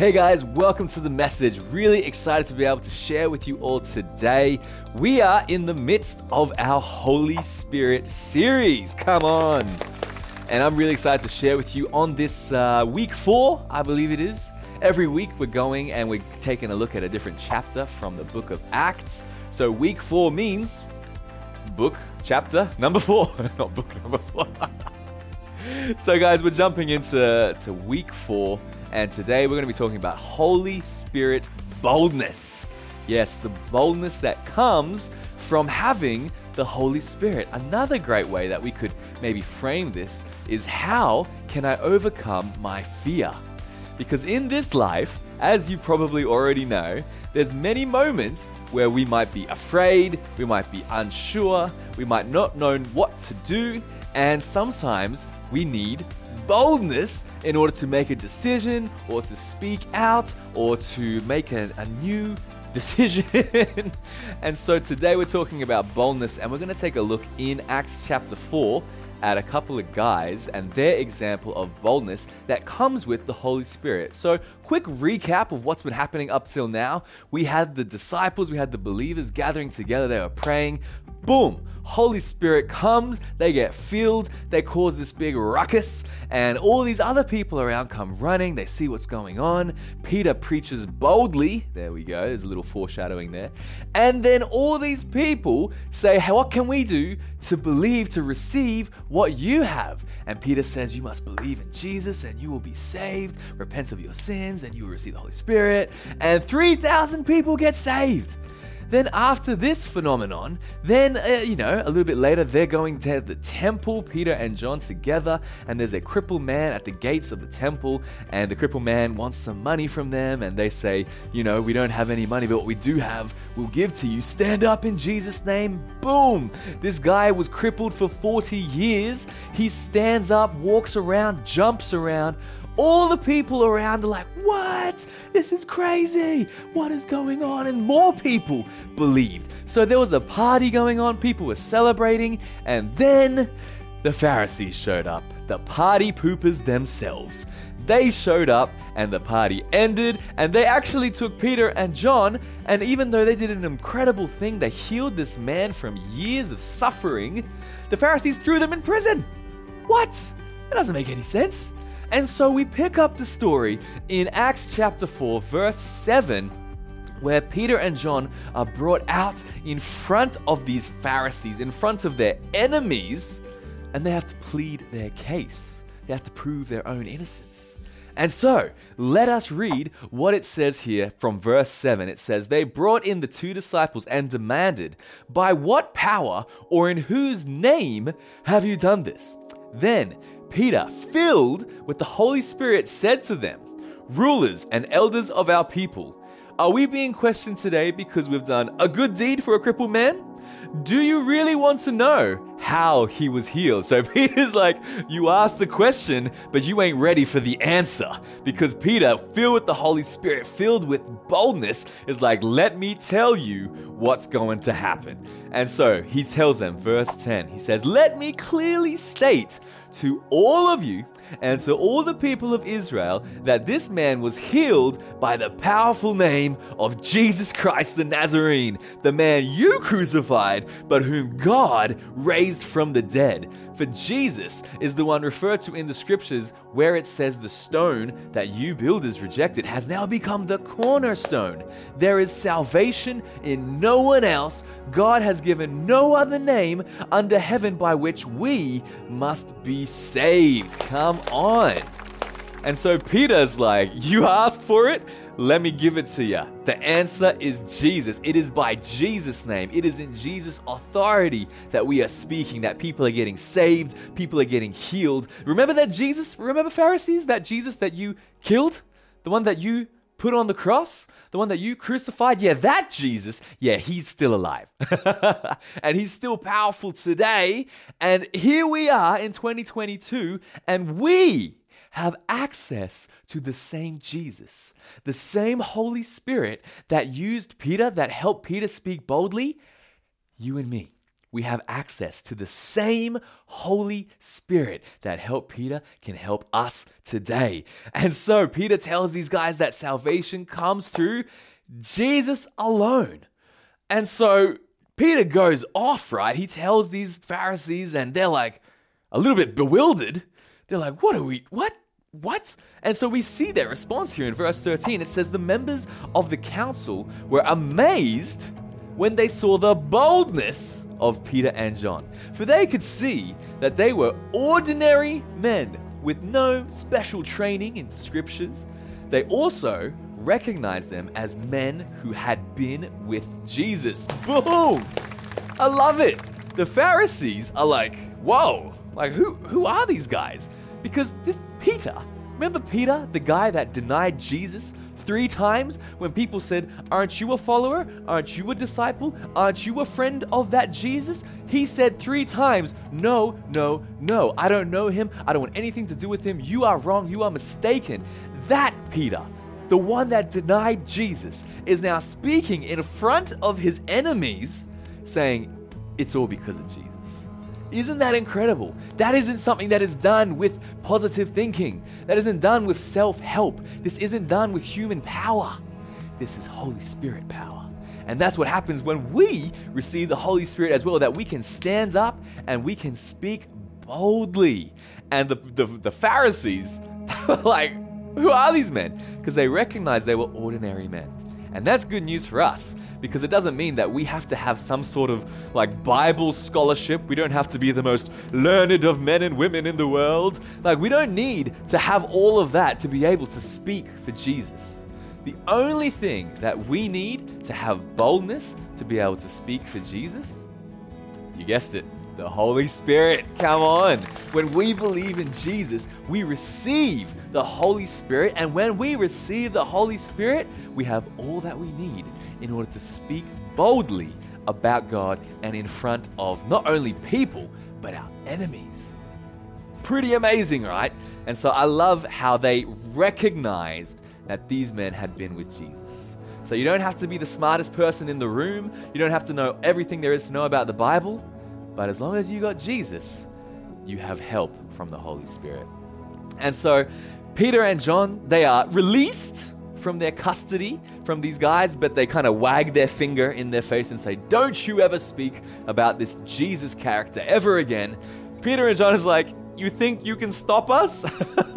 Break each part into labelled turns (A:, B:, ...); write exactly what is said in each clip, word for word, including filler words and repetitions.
A: Hey guys, welcome to the message. Really excited to be able to share with you all today. We are in the midst of our Holy Spirit series. Come on. And I'm really excited to share with you on this uh, week four, I believe it is. Every week we're going and we're taking a look at a different chapter from the book of Acts. So week four means book chapter number four, not book number four. So guys, we're jumping into to week four, and today we're going to be talking about Holy Spirit boldness. Yes, the boldness that comes from having the Holy Spirit. Another great way that we could maybe frame this is, how can I overcome my fear? Because in this life, as you probably already know, there's many moments where we might be afraid, we might be unsure, we might not know what to do, and sometimes we need boldness in order to make a decision or to speak out or to make a, a new decision. And so today we're talking about boldness, and we're going to take a look in Acts chapter four at a couple of guys and their example of boldness that comes with the Holy Spirit. So quick recap of what's been happening up till now. We had the disciples, we had the believers gathering together, they were praying. Boom! Holy Spirit comes, they get filled, they cause this big ruckus, and all these other people around come running, they see what's going on. Peter preaches boldly, there we go, there's a little foreshadowing there. And then all these people say, hey, what can we do to believe, to receive what you have? And Peter says, you must believe in Jesus and you will be saved, repent of your sins and you will receive the Holy Spirit. And three thousand people get saved. Then after this phenomenon, then, uh, you know, a little bit later, they're going to the temple, Peter and John together, and there's a crippled man at the gates of the temple, and the crippled man wants some money from them, and they say, you know, we don't have any money, but what we do have, we'll give to you. Stand up in Jesus' name. Boom! This guy was crippled for forty years. He stands up, walks around, jumps around. All the people around are like, what? This is crazy. What is going on? And more people believed. So there was a party going on. People were celebrating. And then the Pharisees showed up. The party poopers themselves. They showed up and the party ended. And they actually took Peter and John. And even though they did an incredible thing, they healed this man from years of suffering, the Pharisees threw them in prison. What? That doesn't make any sense. And so we pick up the story in Acts chapter four, verse seven, where Peter and John are brought out in front of these Pharisees, in front of their enemies, and they have to plead their case. They have to prove their own innocence. And so, let us read what it says here from verse seven. It says, they brought in the two disciples and demanded, by what power or in whose name have you done this? Then Peter, filled with the Holy Spirit, said to them, rulers and elders of our people, are we being questioned today because we've done a good deed for a crippled man? Do you really want to know how he was healed? So Peter's like, you asked the question, but you ain't ready for the answer. Because Peter, filled with the Holy Spirit, filled with boldness, is like, let me tell you what's going to happen. And so he tells them, verse ten, he says, let me clearly state to all of you and to all the people of Israel that this man was healed by the powerful name of Jesus Christ the Nazarene, the man you crucified, but whom God raised from the dead. For Jesus is the one referred to in the scriptures where it says the stone that you builders rejected has now become the cornerstone. There is salvation in no one else. God has given no other name under heaven by which we must be saved. Come on. And so Peter's like, you asked for it? Let me give it to you. The answer is Jesus. It is by Jesus' name. It is in Jesus' authority that we are speaking, that people are getting saved, people are getting healed. Remember that Jesus, remember Pharisees, that Jesus that you killed? The one that you put on the cross? The one that you crucified? Yeah, that Jesus, yeah, he's still alive. And he's still powerful today. And here we are in twenty twenty-two, and we have access to the same Jesus, the same Holy Spirit that used Peter, that helped Peter speak boldly. You and me, we have access to the same Holy Spirit that helped Peter can help us today. And so Peter tells these guys that salvation comes through Jesus alone. And so Peter goes off, right? He tells these Pharisees and they're like a little bit bewildered. They're like, what are we, what? What? And so we see their response here in verse thirteen. It says, the members of the council were amazed when they saw the boldness of Peter and John. For they could see that they were ordinary men with no special training in scriptures. They also recognized them as men who had been with Jesus. Boom! I love it. The Pharisees are like, whoa, like who, who are these guys? Because this Peter, remember Peter, the guy that denied Jesus three times when people said, aren't you a follower? Aren't you a disciple? Aren't you a friend of that Jesus? He said three times, no, no, no. I don't know him. I don't want anything to do with him. You are wrong. You are mistaken. That Peter, the one that denied Jesus, is now speaking in front of his enemies saying, it's all because of Jesus. Isn't that incredible? That isn't something that is done with positive thinking. That isn't done with self-help. This isn't done with human power. This is Holy Spirit power. And that's what happens when we receive the Holy Spirit as well, that we can stand up and we can speak boldly. And the, the, the Pharisees, they were like, who are these men? Because they recognized they were ordinary men. And that's good news for us, because it doesn't mean that we have to have some sort of like Bible scholarship. We don't have to be the most learned of men and women in the world. Like, we don't need to have all of that to be able to speak for Jesus. The only thing that we need to have boldness to be able to speak for Jesus, you guessed it, the Holy Spirit. Come on. When we believe in Jesus, we receive the Holy Spirit. And when we receive the Holy Spirit, we have all that we need in order to speak boldly about God and in front of not only people, but our enemies. Pretty amazing, right? And so I love how they recognized that these men had been with Jesus. So you don't have to be the smartest person in the room. You don't have to know everything there is to know about the Bible. But as long as you got Jesus, you have help from the Holy Spirit. And so Peter and John, they are released from their custody from these guys, but they kind of wag their finger in their face and say, don't you ever speak about this Jesus character ever again. Peter and John is like, you think you can stop us?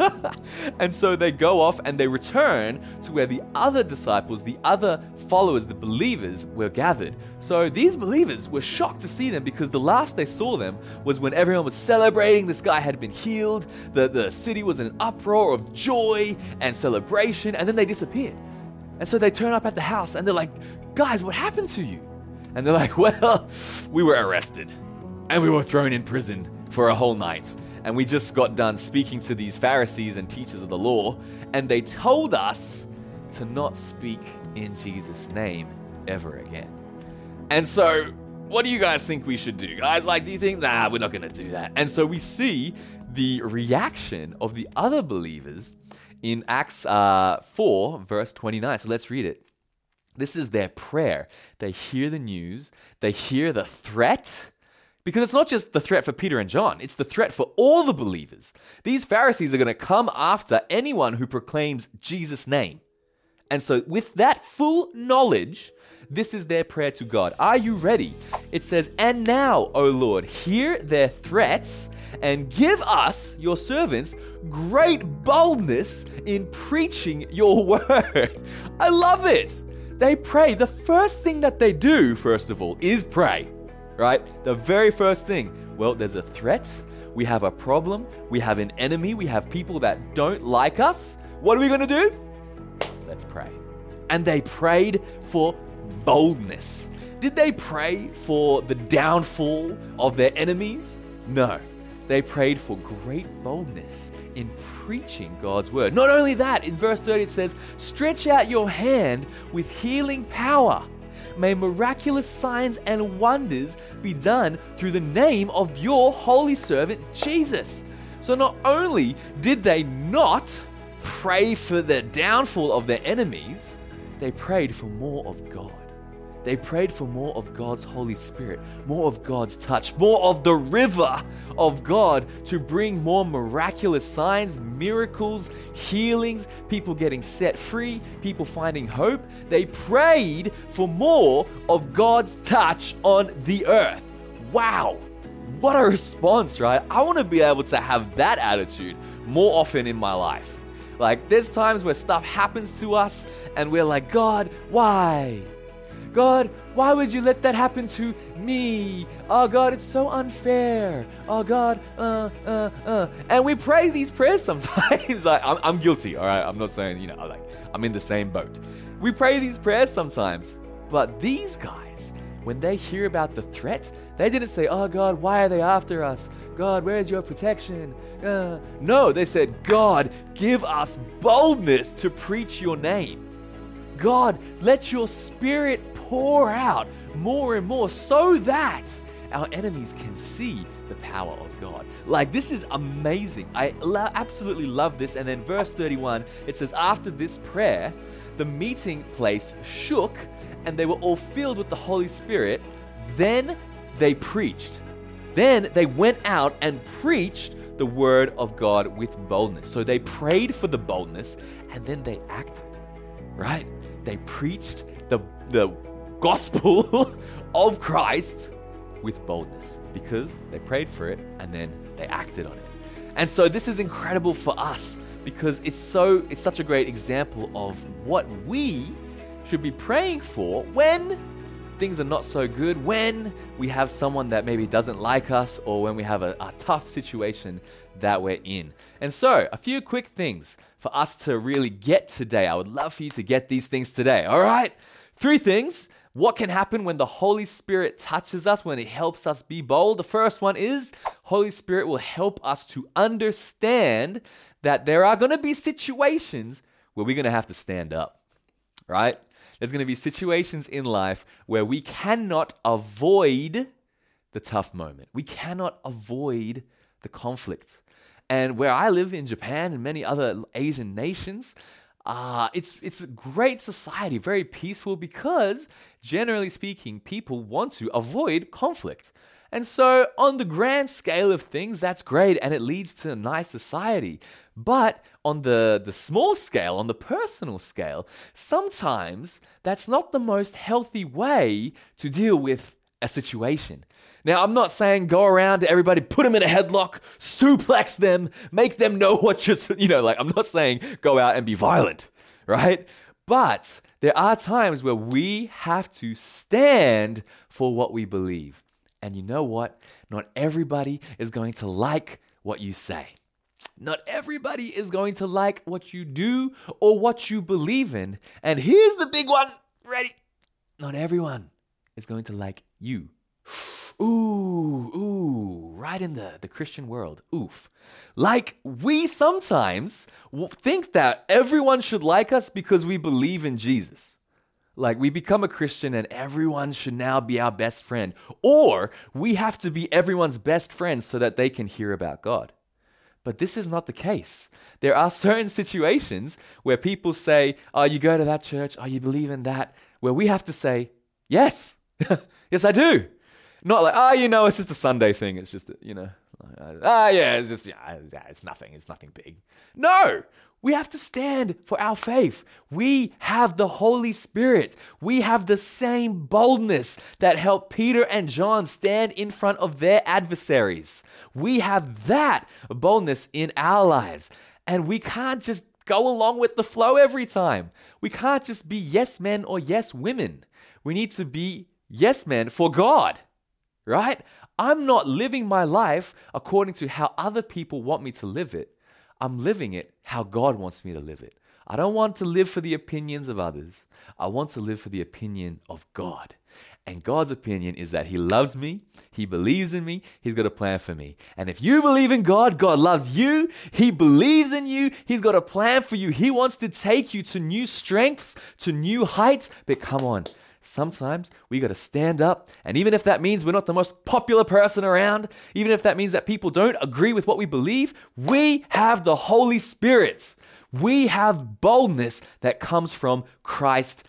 A: And so they go off and they return to where the other disciples, the other followers, the believers were gathered. So these believers were shocked to see them, because the last they saw them was when everyone was celebrating this guy had been healed. The, the city was in an uproar of joy and celebration, and then they disappeared. And so they turn up at the house and they're like, guys, what happened to you? And they're like, well, we were arrested and we were thrown in prison for a whole night. And we just got done speaking to these Pharisees and teachers of the law, and they told us to not speak in Jesus' name ever again. And so, what do you guys think we should do? Guys, like, do you think, nah, we're not going to do that? And so we see the reaction of the other believers in Acts uh, four, verse twenty-nine. So let's read it. This is their prayer. They hear the news. They hear the threat. Because it's not just the threat for Peter and John, it's the threat for all the believers. These Pharisees are going to come after anyone who proclaims Jesus' name. And so with that full knowledge, this is their prayer to God. Are you ready? It says, and now, O Lord, hear their threats and give us, your servants, great boldness in preaching your word. I love it. They pray. The first thing that they do, first of all, is pray. Right? The very first thing, well, there's a threat, we have a problem, we have an enemy, we have people that don't like us. What are we going to do? Let's pray. And they prayed for boldness. Did they pray for the downfall of their enemies? No. They prayed for great boldness in preaching God's word. Not only that, in verse thirty it says, stretch out your hand with healing power. May miraculous signs and wonders be done through the name of your holy servant, Jesus. So not only did they not pray for the downfall of their enemies, they prayed for more of God. They prayed for more of God's Holy Spirit, more of God's touch, more of the river of God to bring more miraculous signs, miracles, healings, people getting set free, people finding hope. They prayed for more of God's touch on the earth. Wow, what a response, right? I want to be able to have that attitude more often in my life. Like, there's times where stuff happens to us and we're like, God, why? God, why would you let that happen to me? Oh God, it's so unfair. Oh God, uh, uh, uh. And we pray these prayers sometimes. like, I'm, I'm guilty, all right? I'm not saying, you know, like, I'm in the same boat. We pray these prayers sometimes. But these guys, when they hear about the threat, they didn't say, oh God, why are they after us? God, where's your protection? Uh, no, they said, God, give us boldness to preach your name. God, let your spirit pour out more and more so that our enemies can see the power of God. Like, this is amazing. I lo- absolutely love this. And then verse thirty-one, it says, after this prayer, the meeting place shook and they were all filled with the Holy Spirit. Then they preached. Then they went out and preached the word of God with boldness. So they prayed for the boldness and then they acted, right? They preached the, the gospel of Christ with boldness because they prayed for it and then they acted on it. And so this is incredible for us because it's so it's such a great example of what we should be praying for when things are not so good, when we have someone that maybe doesn't like us, or when we have a, a tough situation that we're in. And so, a few quick things for us to really get today. I would love for you to get these things today, all right? Three things. What can happen when the Holy Spirit touches us, when it helps us be bold? The first one is Holy Spirit will help us to understand that there are going to be situations where we're going to have to stand up, right? There's going to be situations in life where we cannot avoid the tough moment. We cannot avoid the conflict. And where I live in Japan and many other Asian nations, uh, it's it's a great society, very peaceful, because generally speaking, people want to avoid conflict. And so on the grand scale of things, that's great and it leads to a nice society. But on the, the small scale, on the personal scale, sometimes that's not the most healthy way to deal with a situation. Now, I'm not saying go around to everybody, put them in a headlock, suplex them, make them know what you're, you know, like, I'm not saying go out and be violent, right? But there are times where we have to stand for what we believe. And you know what? Not everybody is going to like what you say. Not everybody is going to like what you do or what you believe in. And here's the big one. Ready? Not everyone is going to like you. Ooh, ooh, right in the, the Christian world. Oof. Like, we sometimes think that everyone should like us because we believe in Jesus. Like, we become a Christian and everyone should now be our best friend. Or we have to be everyone's best friend so that they can hear about God. But this is not the case. There are certain situations where people say, oh, you go to that church, oh, you believe in that, where we have to say, yes, yes, I do. Not like, oh, you know, it's just a Sunday thing. It's just, you know, ah, oh, yeah, it's just, yeah, it's nothing. It's nothing big. No, we have to stand for our faith. We have the Holy Spirit. We have the same boldness that helped Peter and John stand in front of their adversaries. We have that boldness in our lives. And we can't just go along with the flow every time. We can't just be yes men or yes women. We need to be yes men for God, right? I'm not living my life according to how other people want me to live it. I'm living it how God wants me to live it. I don't want to live for the opinions of others. I want to live for the opinion of God. And God's opinion is that He loves me, He believes in me, He's got a plan for me. And if you believe in God, God loves you, He believes in you, He's got a plan for you. He wants to take you to new strengths, to new heights. But come on, sometimes we got to stand up. And even if that means we're not the most popular person around, even if that means that people don't agree with what we believe, we have the Holy Spirit. We have boldness that comes from Christ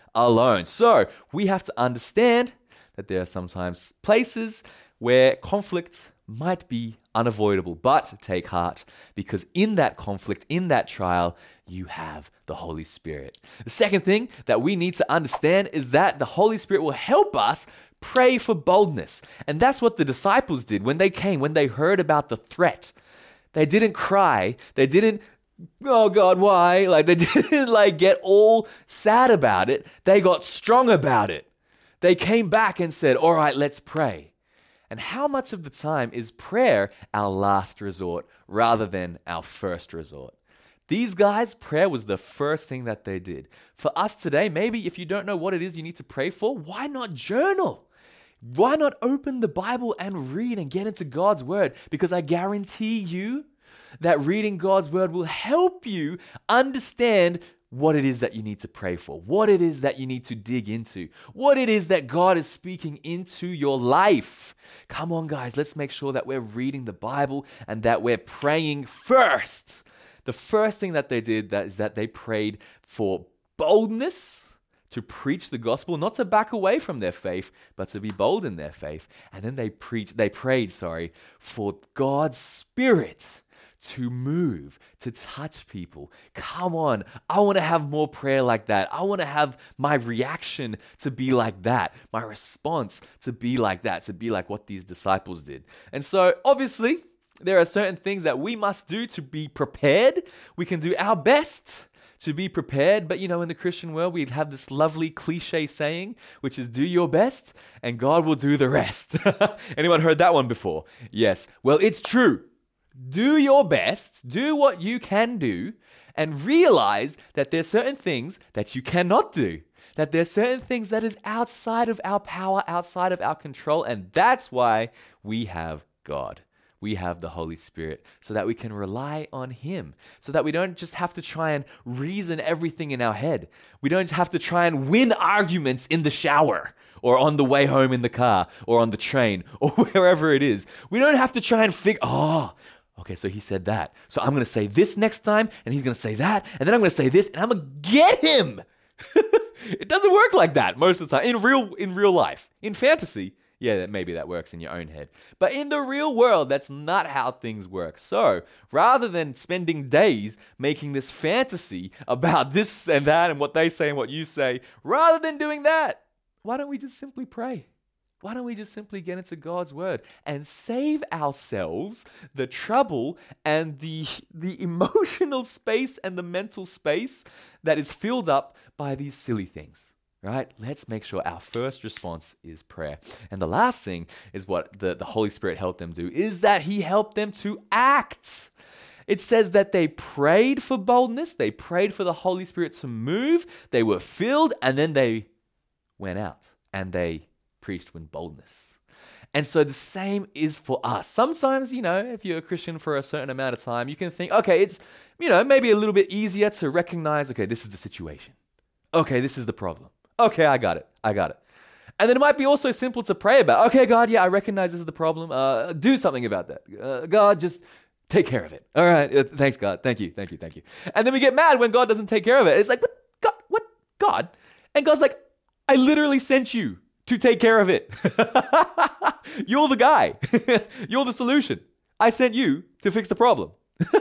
A: alone. So we have to understand that there are sometimes places where conflict might be unavoidable, but take heart, because in that conflict, in that trial, you have the Holy Spirit. The second thing that we need to understand is that the Holy Spirit will help us pray for boldness. And that's what the disciples did when they came, when they heard about the threat. They didn't cry. They didn't, oh God, why? Like they didn't like get all sad about it. They got strong about it. They came back and said, all right, let's pray. And how much of the time is prayer our last resort rather than our first resort? These guys, prayer was the first thing that they did. For us today, maybe if you don't know what it is you need to pray for, why not journal? Why not open the Bible and read and get into God's word? Because I guarantee you that reading God's word will help you understand what it is that you need to pray for, what it is that you need to dig into, what it is that God is speaking into your life. Come on, guys, let's make sure that we're reading the Bible and that we're praying first. The first thing that they did that is that they prayed for boldness to preach the gospel, not to back away from their faith, but to be bold in their faith. And then they preached, they prayed, sorry, for God's Spirit to move, to touch people. Come on, I want to have more prayer like that. I want to have my reaction to be like that, my response to be like that, to be like what these disciples did. And so, obviously, there are certain things that we must do to be prepared. We can do our best to be prepared, but you know, in the Christian world, we have this lovely cliche saying, which is do your best and God will do the rest. Anyone heard that one before? Yes. Well, it's true. Do your best, do what you can do, and realize that there's certain things that you cannot do. That there's certain things that is outside of our power, outside of our control, and that's why we have God. We have the Holy Spirit so that we can rely on Him, so that we don't just have to try and reason everything in our head. We don't have to try and win arguments in the shower or on the way home in the car or on the train or wherever it is. We don't have to try and figure, oh, okay, so he said that. So I'm going to say this next time, and he's going to say that, and then I'm going to say this, and I'm going to get him. It doesn't work like that most of the time. In real, in real life. In fantasy, yeah, maybe that works in your own head. But in the real world, that's not how things work. So rather than spending days making this fantasy about this and that and what they say and what you say, rather than doing that, why don't we just simply pray? Why don't we just simply get into God's word and save ourselves the trouble and the, the emotional space and the mental space that is filled up by these silly things, right? Let's make sure our first response is prayer. And the last thing is what the, the Holy Spirit helped them do, is that He helped them to act. It says that they prayed for boldness, they prayed for the Holy Spirit to move, they were filled, and then they went out and they preached with boldness. And so the same is for us. Sometimes, you know, if you're a Christian for a certain amount of time, you can think, okay, it's, you know, maybe a little bit easier to recognize, okay, this is the situation. Okay, this is the problem. Okay, I got it. I got it. And then it might be also simple to pray about. Okay, God, yeah, I recognize this is the problem. Uh, do something about that. Uh, God, just take care of it. All right. Uh, thanks, God. Thank you. Thank you. Thank you. And then we get mad when God doesn't take care of it. It's like, what? God, what? God? And God's like, I literally sent you to take care of it. You're the guy. You're the solution. I sent you to fix the problem.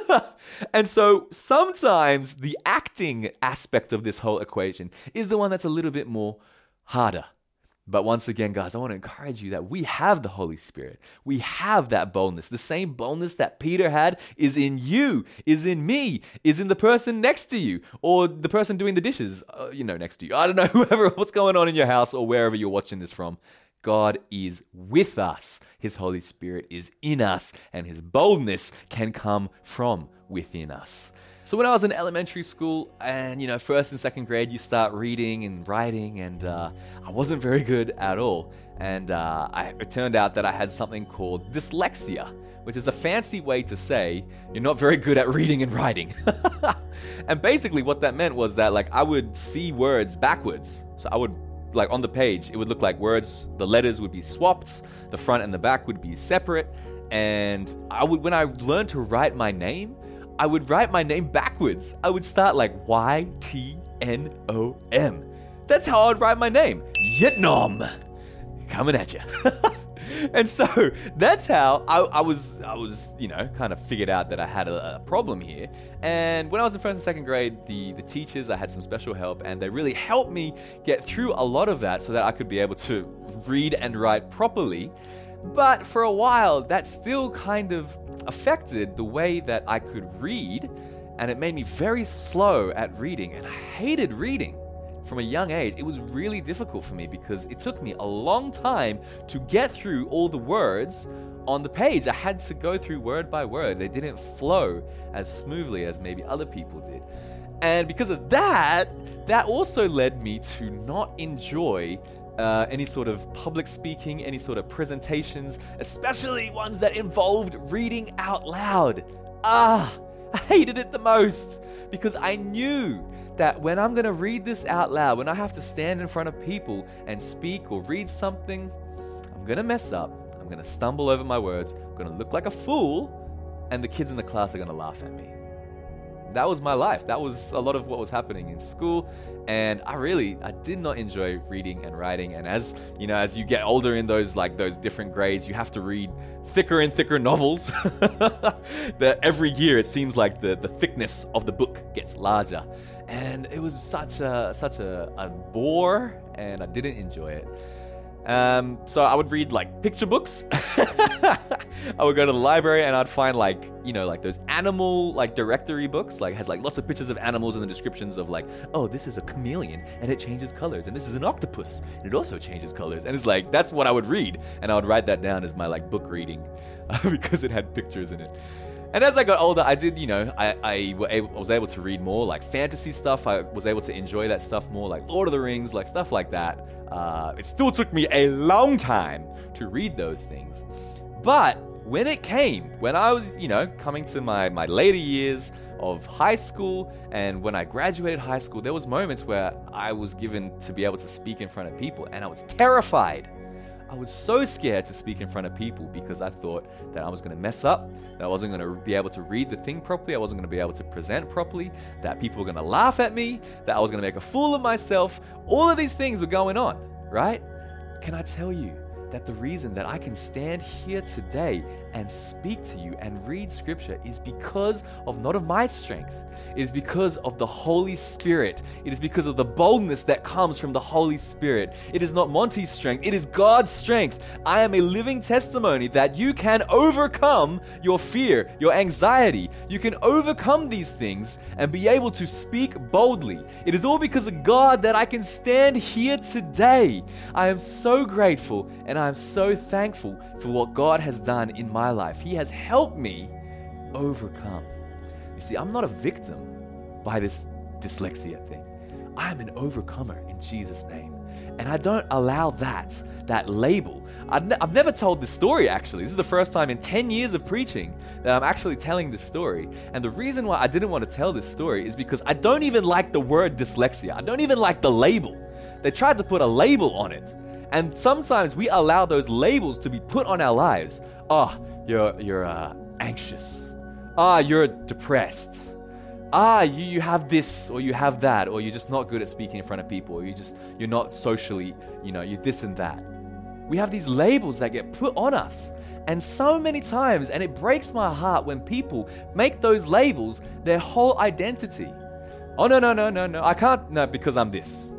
A: And so sometimes the acting aspect of this whole equation is the one that's a little bit more harder. But once again, guys, I want to encourage you that we have the Holy Spirit. We have that boldness. The same boldness that Peter had is in you, is in me, is in the person next to you, or the person doing the dishes, uh, you know, next to you. I don't know, whoever, what's going on in your house or wherever you're watching this from. God is with us. His Holy Spirit is in us, and His boldness can come from within us. So when I was in elementary school and, you know, first and second grade, you start reading and writing, and uh, I wasn't very good at all. And uh, I, it turned out that I had something called dyslexia, which is a fancy way to say you're not very good at reading and writing. And basically what that meant was that, like, I would see words backwards. So I would, like, on the page, it would look like words, the letters would be swapped, the front and the back would be separate. And I would, when I learned to write my name, I would write my name backwards. I would start like Y T N O M. that's how I would write my name. Yitnom. Coming at you. And so that's how I, I was, I was, you know, kind of figured out that I had a, a problem here. And when I was in first and second grade, the, the teachers, I had some special help, and they really helped me get through a lot of that so that I could be able to read and write properly. But for a while, that still kind of affected the way that I could read, and it made me very slow at reading, and I hated reading. From a young age, it was really difficult for me because it took me a long time to get through all the words on the page. I had to go through word by word. They didn't flow as smoothly as maybe other people did. And because of that, that also led me to not enjoy uh, any sort of public speaking, any sort of presentations, especially ones that involved reading out loud. Ah, I hated it the most because I knew that when I'm going to read this out loud, when I have to stand in front of people and speak or read something, I'm going to mess up. I'm going to stumble over my words. I'm going to look like a fool, and the kids in the class are going to laugh at me. That was my life. That was a lot of what was happening in school, and I really, I did not enjoy reading and writing. And as you know, as you get older in those like those different grades, you have to read thicker and thicker novels. That every year it seems like the the thickness of the book gets larger, and it was such a such a, a bore, and I didn't enjoy it. Um, so I would read like picture books. I would go to the library and I'd find like, you know, like those animal like directory books, like has like lots of pictures of animals and the descriptions of like, oh, this is a chameleon and it changes colors, and this is an octopus and it also changes colors. And it's like, that's what I would read. And I would write that down as my like book reading because it had pictures in it. And as I got older, I did, you know, I, I was able to read more like fantasy stuff. I was able to enjoy that stuff more, like Lord of the Rings, like stuff like that. Uh, it still took me a long time to read those things. But when it came, when I was, you know, coming to my, my later years of high school, and when I graduated high school, there was moments where I was given to be able to speak in front of people, and I was terrified. I was so scared to speak in front of people because I thought that I was going to mess up, that I wasn't going to be able to read the thing properly, I wasn't going to be able to present properly, that people were going to laugh at me, that I was going to make a fool of myself. All of these things were going on, right? Can I tell you that the reason that I can stand here today and speak to you and read scripture is because of not of my strength. It is because of the Holy Spirit. It is because of the boldness that comes from the Holy Spirit. It is not Monty's strength. It is God's strength. I am a living testimony that you can overcome your fear, your anxiety. You can overcome these things and be able to speak boldly. It is all because of God that I can stand here today. I am so grateful and I am so thankful for what God has done in my life. He has helped me overcome. You see, I'm not a victim by this dyslexia thing. I am an overcomer in Jesus' name. And I don't allow that, that label. I've, ne- I've never told this story, actually. This is the first time in ten years of preaching that I'm actually telling this story. And the reason why I didn't want to tell this story is because I don't even like the word dyslexia. I don't even like the label. They tried to put a label on it. And sometimes we allow those labels to be put on our lives. Oh, you're, you're uh, anxious. Ah, you're depressed. Ah, you, you have this or you have that, or you're just not good at speaking in front of people, or you just, you're not socially, you know, you're this and that. We have these labels that get put on us. And so many times, and it breaks my heart when people make those labels their whole identity. Oh, no, no, no, no, no, I can't, no, because I'm this.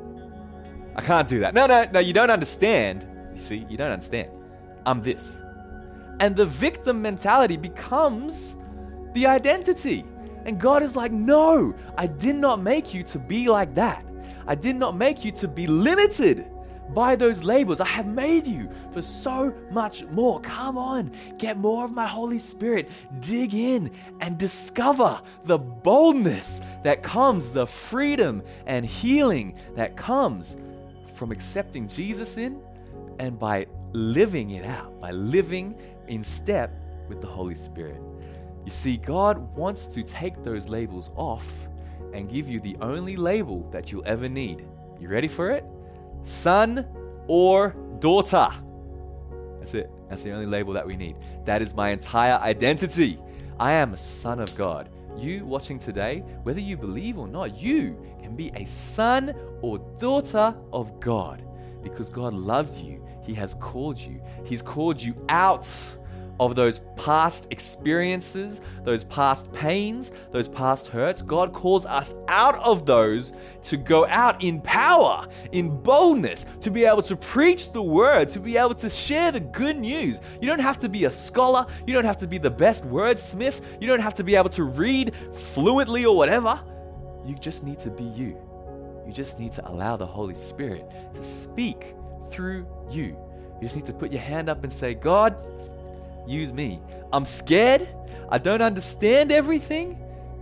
A: I can't do that. No, no, no, you don't understand. You see, you don't understand. I'm this. And the victim mentality becomes the identity. And God is like, no, I did not make you to be like that. I did not make you to be limited by those labels. I have made you for so much more. Come on, get more of my Holy Spirit. Dig in and discover the boldness that comes, the freedom and healing that comes from accepting Jesus in and by living it out, by living in step with the Holy Spirit. You see, God wants to take those labels off and give you the only label that you'll ever need. You ready for it? Son or daughter. That's it. That's the only label that we need. That is my entire identity. I am a son of God. you watching today, whether you believe or not, you can be a son or daughter of God because God loves you. He has called you. He's called you out of those past experiences, those past pains, those past hurts. God calls us out of those to go out in power, in boldness, to be able to preach the word, to be able to share the good news. You don't have to be a scholar. You don't have to be the best wordsmith. You don't have to be able to read fluently or whatever. You just need to be you. You just need to allow the Holy Spirit to speak through you. You just need to put your hand up and say, God, use me. I'm scared. I don't understand everything,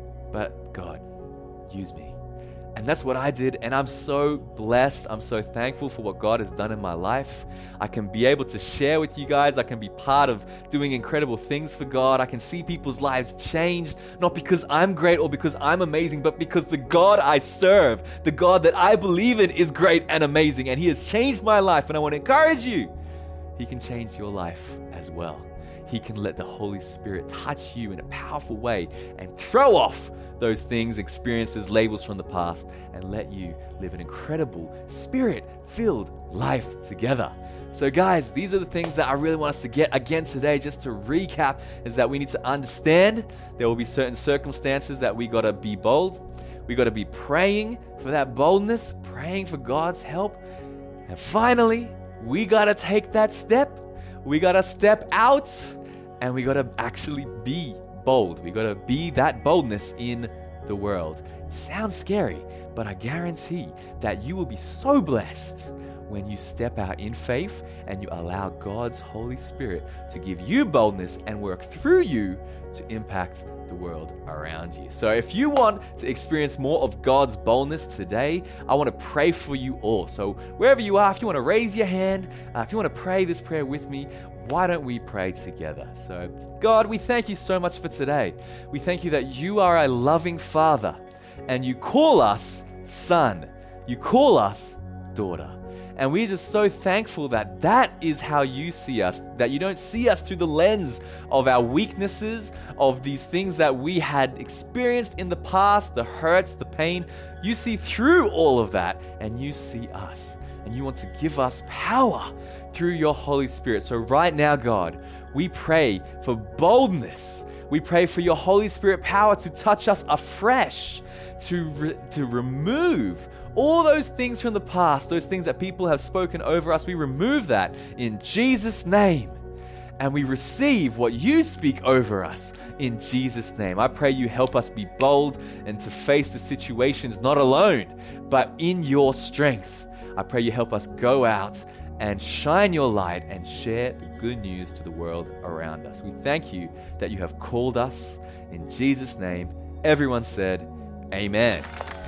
A: but God, use me. And that's what I did. And I'm so blessed. I'm so thankful for what God has done in my life. I can be able to share with you guys. I can be part of doing incredible things for God. I can see people's lives changed, not because I'm great or because I'm amazing, but because the God I serve, the God that I believe in, is great and amazing. And He has changed my life. And I want to encourage you, He can change your life as well. He can let the Holy Spirit touch you in a powerful way and throw off those things, experiences, labels from the past, and let you live an incredible, Spirit-filled life together. So guys, these are the things that I really want us to get again today. Just to recap, is that we need to understand there will be certain circumstances that we got to be bold. We got to be praying for that boldness, praying for God's help. And finally, we got to take that step. We got to step out and we got to actually be bold. We got to be that boldness in the world. It sounds scary, but I guarantee that you will be so blessed when you step out in faith and you allow God's Holy Spirit to give you boldness and work through you to impact the world around you. So if you want to experience more of God's boldness today, I want to pray for you all. So wherever you are, if you want to raise your hand, uh, if you want to pray this prayer with me, why don't we pray together? So God, we thank you so much for today. We thank you that you are a loving Father and you call us son. You call us daughter. And we're just so thankful that that is how you see us, that you don't see us through the lens of our weaknesses, of these things that we had experienced in the past, the hurts, the pain. You see through all of that and you see us. And you want to give us power through your Holy Spirit. So right now, God, we pray for boldness. We pray for your Holy Spirit power to touch us afresh, to, re- to remove all those things from the past, those things that people have spoken over us. We remove that in Jesus' name. And we receive what you speak over us in Jesus' name. I pray you help us be bold and to face the situations not alone, but in your strength. I pray you help us go out and shine your light and share the good news to the world around us. We thank you that you have called us in Jesus' name. Everyone said, amen.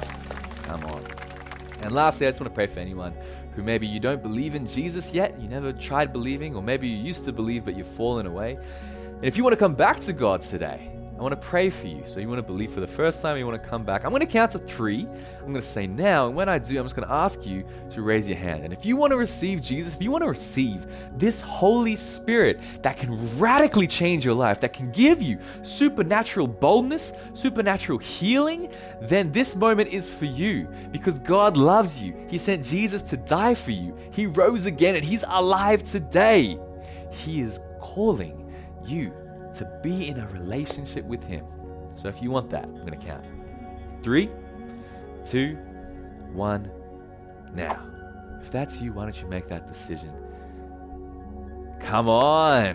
A: Come on. And lastly, I just want to pray for anyone who maybe you don't believe in Jesus yet, you never tried believing, or maybe you used to believe but you've fallen away. And if you want to come back to God today, I want to pray for you. So you want to believe for the first time, you want to come back. I'm going to count to three. I'm going to say now, and when I do, I'm just going to ask you to raise your hand. And if you want to receive Jesus, if you want to receive this Holy Spirit that can radically change your life, that can give you supernatural boldness, supernatural healing, then this moment is for you because God loves you. He sent Jesus to die for you. He rose again and He's alive today. He is calling you to be in a relationship with Him. So if you want that, I'm going to count. Three, two, one, now. If that's you, why don't you make that decision? Come on.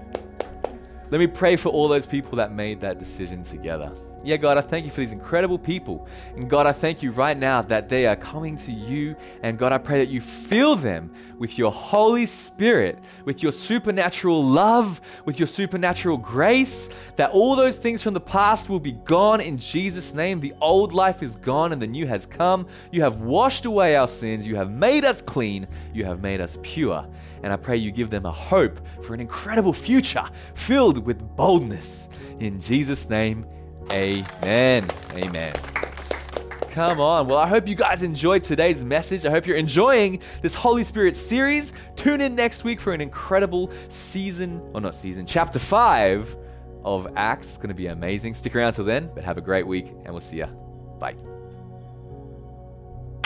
A: Let me pray for all those people that made that decision together. Yeah, God, I thank you for these incredible people. And God, I thank you right now that they are coming to you. And God, I pray that you fill them with your Holy Spirit, with your supernatural love, with your supernatural grace, that all those things from the past will be gone in Jesus' name. The old life is gone and the new has come. You have washed away our sins. You have made us clean. You have made us pure. And I pray you give them a hope for an incredible future filled with boldness. In Jesus' name, amen. Amen. Come on. Well, I hope you guys enjoyed today's message. I hope you're enjoying this Holy Spirit series. Tune in next week for an incredible season, or not season, chapter five of Acts. It's going to be amazing. Stick around till then, but have a great week, and we'll see ya. Bye.